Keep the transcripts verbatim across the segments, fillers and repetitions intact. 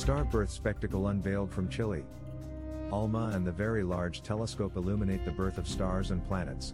Star birth spectacle unveiled from Chile. ALMA and the Very Large Telescope illuminate the birth of stars and planets.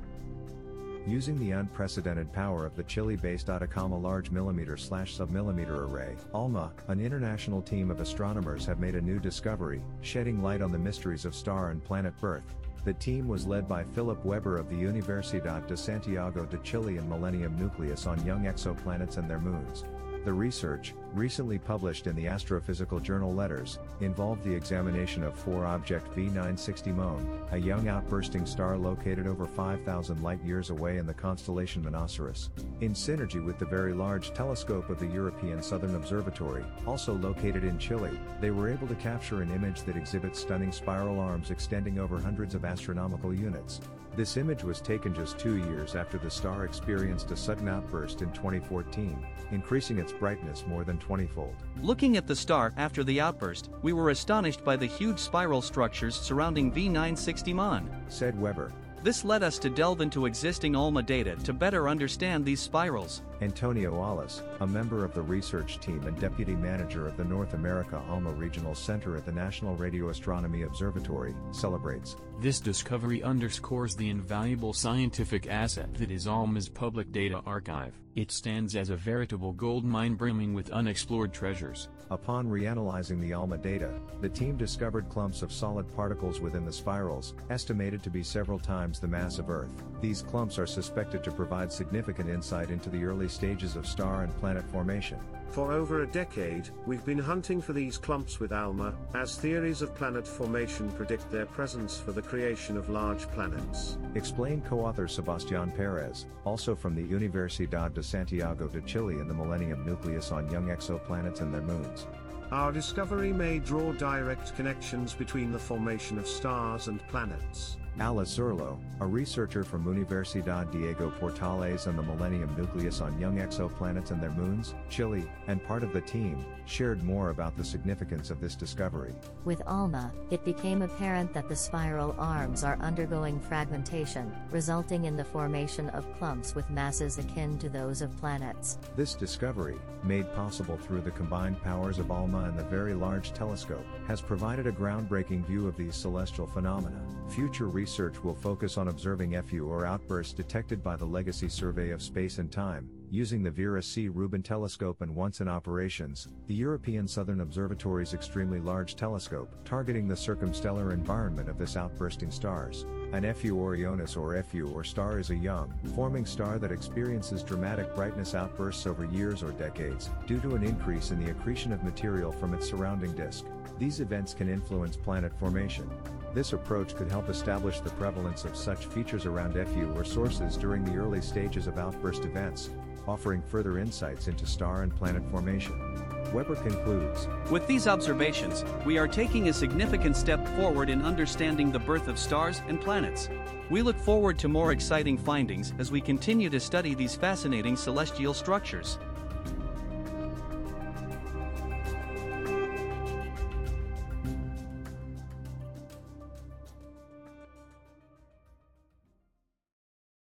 Using the unprecedented power of the Chile-based Atacama Large Millimeter/Submillimeter Array, ALMA, an international team of astronomers have made a new discovery, shedding light on the mysteries of star and planet birth. The team was led by Philip Weber of the Universidad de Santiago de Chile and Millennium Nucleus on young exoplanets and their moons. The research, recently published in the astrophysical journal Letters, involved the examination of four-object V nine sixty Mon, a young outbursting star located over five thousand light-years away in the constellation Monoceros. In synergy with the Very Large Telescope of the European Southern Observatory, also located in Chile, they were able to capture an image that exhibits stunning spiral arms extending over hundreds of astronomical units. This image was taken just two years after the star experienced a sudden outburst in twenty fourteen, increasing its brightness more than twenty-fold. Looking at the star after the outburst, we were astonished by the huge spiral structures surrounding V nine sixty Mon, said Weber. This led us to delve into existing ALMA data to better understand these spirals. Antonio Alas, a member of the research team and deputy manager of the North America ALMA Regional Center at the National Radio Astronomy Observatory, celebrates. This discovery underscores the invaluable scientific asset that is ALMA's public data archive. It stands as a veritable gold mine brimming with unexplored treasures. Upon reanalyzing the ALMA data, the team discovered clumps of solid particles within the spirals, estimated to be several times the mass of Earth. These clumps are suspected to provide significant insight into the early stages of star and planet formation. For over a decade, we've been hunting for these clumps with ALMA, as theories of planet formation predict their presence for the creation of large planets. Explained co-author Sebastián Pérez, also from the Universidad de Santiago de Chile and the Millennium Nucleus on young exoplanets and their moons. Our discovery may draw direct connections between the formation of stars and planets. Alice Zurlo, a researcher from Universidad Diego Portales and the Millennium Nucleus on young exoplanets and their moons, Chile, and part of the team, shared more about the significance of this discovery. With ALMA, it became apparent that the spiral arms are undergoing fragmentation, resulting in the formation of clumps with masses akin to those of planets. This discovery, made possible through the combined powers of ALMA and the Very Large Telescope, has provided a groundbreaking view of these celestial phenomena. Future research will focus on observing F U or outbursts detected by the Legacy Survey of Space and Time, using the Vera C. Rubin telescope and once in operations, the European Southern Observatory's extremely large telescope, targeting the circumstellar environment of this outbursting stars. An F U Orionis or F U or star is a young, forming star that experiences dramatic brightness outbursts over years or decades, due to an increase in the accretion of material from its surrounding disk. These events can influence planet formation. This approach could help establish the prevalence of such features around F U or sources during the early stages of outburst events, offering further insights into star and planet formation. Weber concludes, with these observations, we are taking a significant step forward in understanding the birth of stars and planets. We look forward to more exciting findings as we continue to study these fascinating celestial structures.